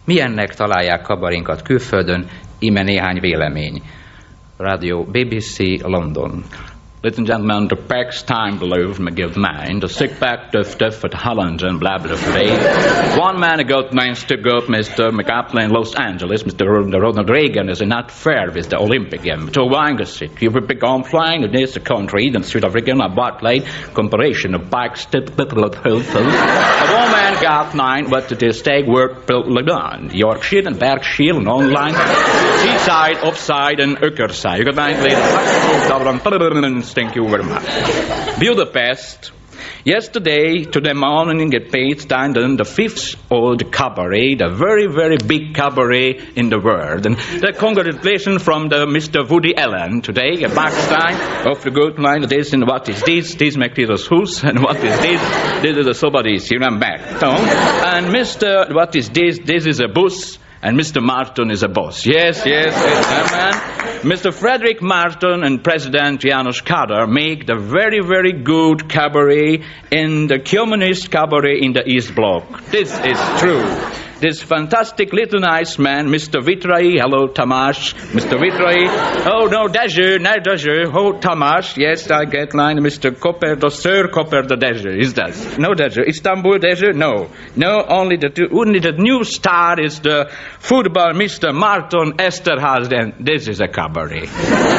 Milyennek találják kabarénkat külföldön? Íme néhány vélemény. Radio BBC London. Ladies and gentlemen, the Pax Time Blues me give mine, the sick back duff at Holland and blah blah blah. One man got names to go Mr. McApple in Los Angeles, Mr. Ronald Reagan is not fair with the Olympic game. To Wangersit, you would be gone flying in this country, then South African, a botlight, comparison of bikes, people of health. One man got 9, but the stag work done. Yorkshire and Berkshire and online, seaside, offside, and Uckerside. You got 9 later. Thank you very much. Budapest. Yesterday, to the morning at Paidstanden, the 5th old cabaret, the very, very big cabaret in the world. And the congratulations from the Mr. Woody Allen today at Backstein of the good line. This and what is this? This makes it a house. And what is this? This is a somebody's here and back. And Mr. What is this? This is a bus. And Mr. Martin is a boss. Yes, man. Mr. Frederick Martin and President Janos Kadar make the very, very good cabaret in the communist cabaret in the East Bloc. This is true. This fantastic little nice man, Mr. Vitrai, hello Tamás, Mr. Vitrai, oh no, Dezső, oh Tamás, yes, I get line, Mr. Koper, the Sir Koper, the Dezső, is that? No Dezső, Istanbul Dezső, no, only the new star is the football Mr. Martin Esterházy, and this is a cabaret.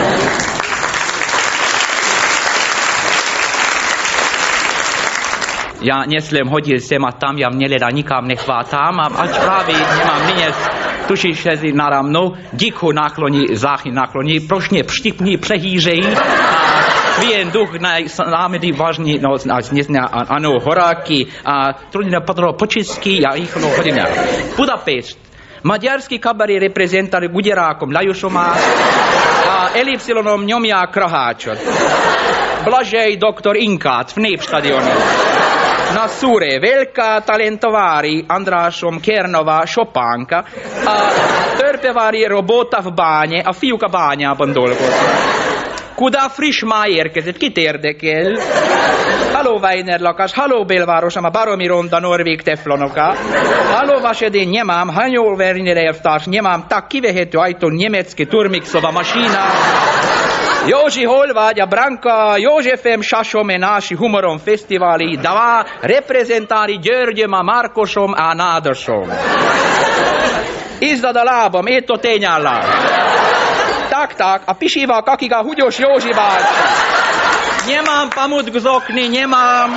Ja nie slem hodil sema tam, ja mne leda nikam nechvátam, a ač právě nemám nyněz tušišezi naramno, diku nakloní, záchy nakloní, prošně pštipní, přehýřejí, a vien duch námedy vážný, no, ano, horáky, a trudně patro počistky, ja ich no hodím. Budapešť. Maďarský kabaret reprezentali Guderákom Lajušom a Elipsilonom Ňomia Kraháčot. Blažej doktor Inkát v Népstadionu. Na Szúré Velká talentovári Andrásom Kernova Sopánka, a törpevári Robota v báne, a fiúk a bányában dolgoznak. Kuda friss már érkezett, kit érdekel? Halló Weiner lakás, halló belvárosom, a baromi ronda norvég teflonoka. Halló vasedén nemám, hanyol Werner elvtárs, nemám, tak kivehető ajtón nemecki turmixova masína. Józsi, hol vagy? A Branka Józsefem Sasom náši humorom fesztiváli, dva reprezentári Györgyöm a Márkosom a Nádasom. Izzad a lábam, étto tényállás. Tak, a pisival kakig a Hugyos Józsi bácsi. Nemám pamut gzokni, nemám.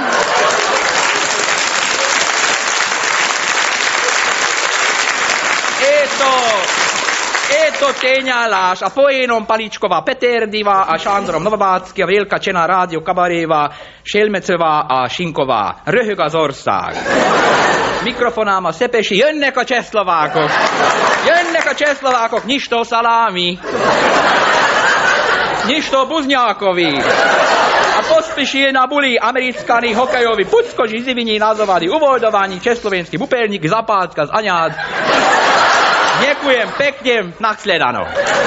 Éto tényállás, a poénom Paličkova Peterdiva, a Sándrom Novabácki, a Vélka Csena Rádió Kabaréva, Selmecova, a Sinková. Röhög az ország. Mikrofonám a Szepesi, jönnek a csehszlovákok, Nyistó Szalámi, Nyistó Buznyákovi, a Pospišil na Buli, americkani hokejovi, Pucko, Žiziviní, Nazovadi, Uvoldování, Československý Bupelník, Zapátka z Aňád. Ďakujem pekne, nasledano.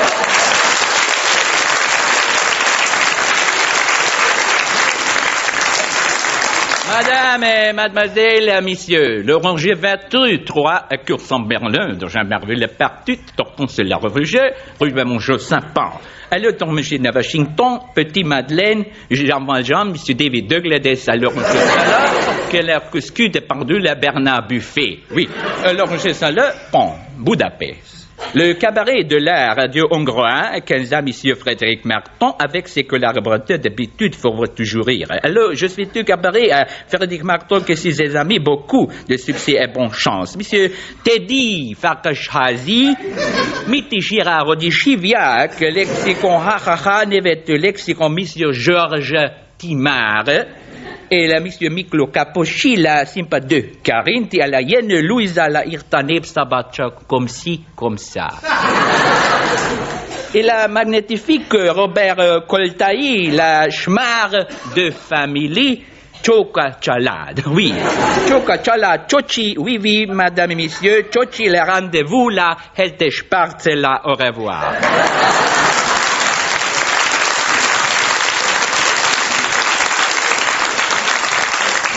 Madame, mademoiselle, messieurs, le rangé 23 à Cursan-Berlin, dans un merveilleux partout, torton c'est la revue, rue de Monjeu Saint-Pan. Alors, dans monsieur de Washington, petit Madeleine, Jean Valjean, monsieur David Douglas, alors monsieur Salah, que leur cuscu dépendu la Bernard Buffet. Oui, alors monsieur Salah, bon, Budapest. Le cabaret de l'art radio hongrois, 15 ans, monsieur Frédéric Marton, avec ses collaborateurs d'habitude, faut toujours rire. Alors, je suis du cabaret à Frédéric Marton, que ses amis, beaucoup de succès et bonne chance. Monsieur Teddy Farkashazi, Miti Girard Chiviac, lexicon ha, nevet lexicon monsieur Georges Timard, et la monsieur Miklo Kaposhi, la sympa de Carinti, à la hyène Louisa, la Irtaneb Sabachak, comme ci, comme ça. Et la magnifique Robert Koltaï, la schmar de famille, Choka Chalad, oui. Choka Chalad, Chochi, oui, madame et messieurs, Chochi, le rendez-vous, la Helte Spartzela, au revoir.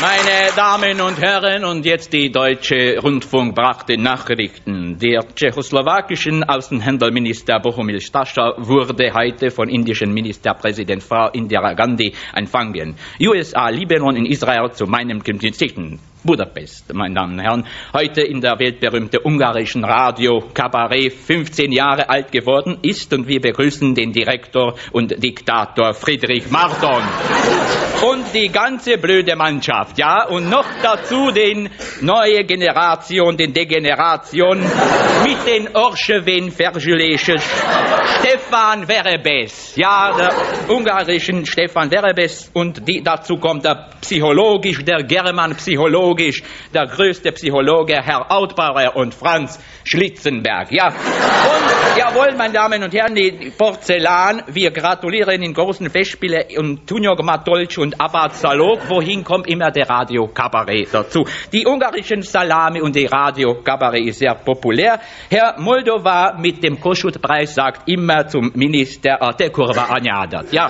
Meine Damen und Herren, und jetzt die Deutsche Rundfunk brachte Nachrichten. Der tschechoslowakischen Außenhandelsminister Bohumil Stascha wurde heute von indischen Ministerpräsident Frau Indira Gandhi empfangen. USA, Libanon in Israel zu meinem Kriminalitäten. Budapest, meine Damen und Herren, heute in der weltberühmte ungarischen Radio Kabarett 15 Jahre alt geworden ist, und wir begrüßen den Direktor und Diktator Friedrich Marton und die ganze blöde Mannschaft, ja, und noch dazu den neue Generation, den Degeneration mit den Orschewen Vergülesches Stefan Verebes, ja, der ungarischen Stefan Verebes, und dazu kommt der psychologisch, der German psychologisch, der größte Psychologe, Herr Outbauer und Franz Schlitzenberg. Ja, und jawohl, meine Damen und Herren, die Porzellan, wir gratulieren in großen Festspielen und Tunjog Matolc und Abad Salok, wohin kommt immer der Radio Kabarett dazu. Die ungarischen Salami und die Radio Kabarett ist sehr populär. Herr Moldova mit dem Kossuth-Preis sagt immer zum Minister, te kurva anjadat. Ja.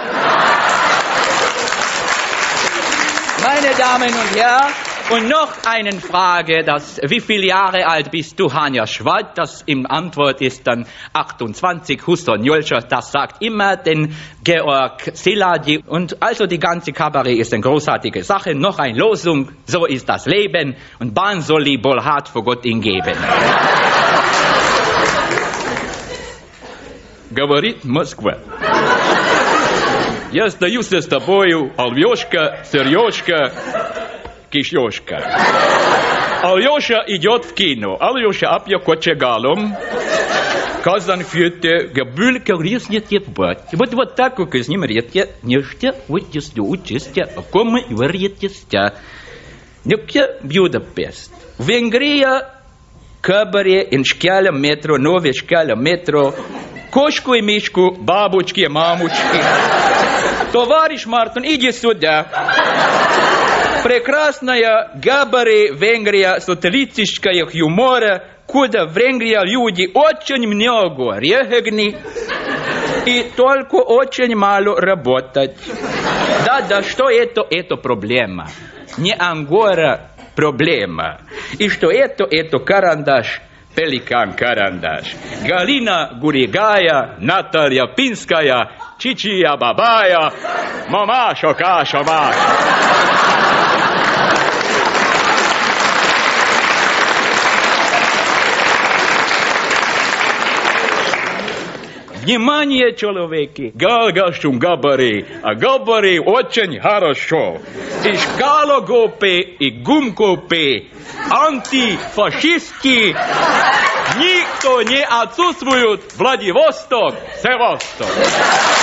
Meine Damen und Herren, und noch eine Frage, wie viele Jahre alt bist du, Hanja Schwad? Das im Antwort ist dann 28, Huston Jolscher, das sagt immer den Georg Szilárd. Und also die ganze Kabarett ist eine großartige Sache. Noch eine Losung, so ist das Leben, und Ban soli bolhat vor Gott ihn geben. Говорит Москва. Я стою с тобою, Алёшка, Серёжка, Кишёшка. Алёша идет в кино. Алёша апья кочегалом. Казан фьюте, габюлька риснет ебать. Вот так, как из ним редья, нечто, вот если учистя, а кому варьетистя. Нюкя Будапест. Венгрия, кабаре, иншкяля метро, нове шкяля метро, кошку и мишку, бабочки и мамочки. Товарищ Мартин, иди сюда. Прекрасная Габаре Венгрия социалистическая юмора, куда в Венгрии люди очень много регни и только очень мало работать. Да, что это? Это проблема. Не Ангора проблема. И что это карандаш. Pelikan Karandash, Galina Gurigaya, Natalia Pinskaya, Chichia Babaya, Mamasho Kashomash. Внимание, человеки! Галгашум габари, а габари очень хорошо. И шкалогопы, и гумкопы, антифашистки, никто не отсутствует. Владивосток, Севастопол.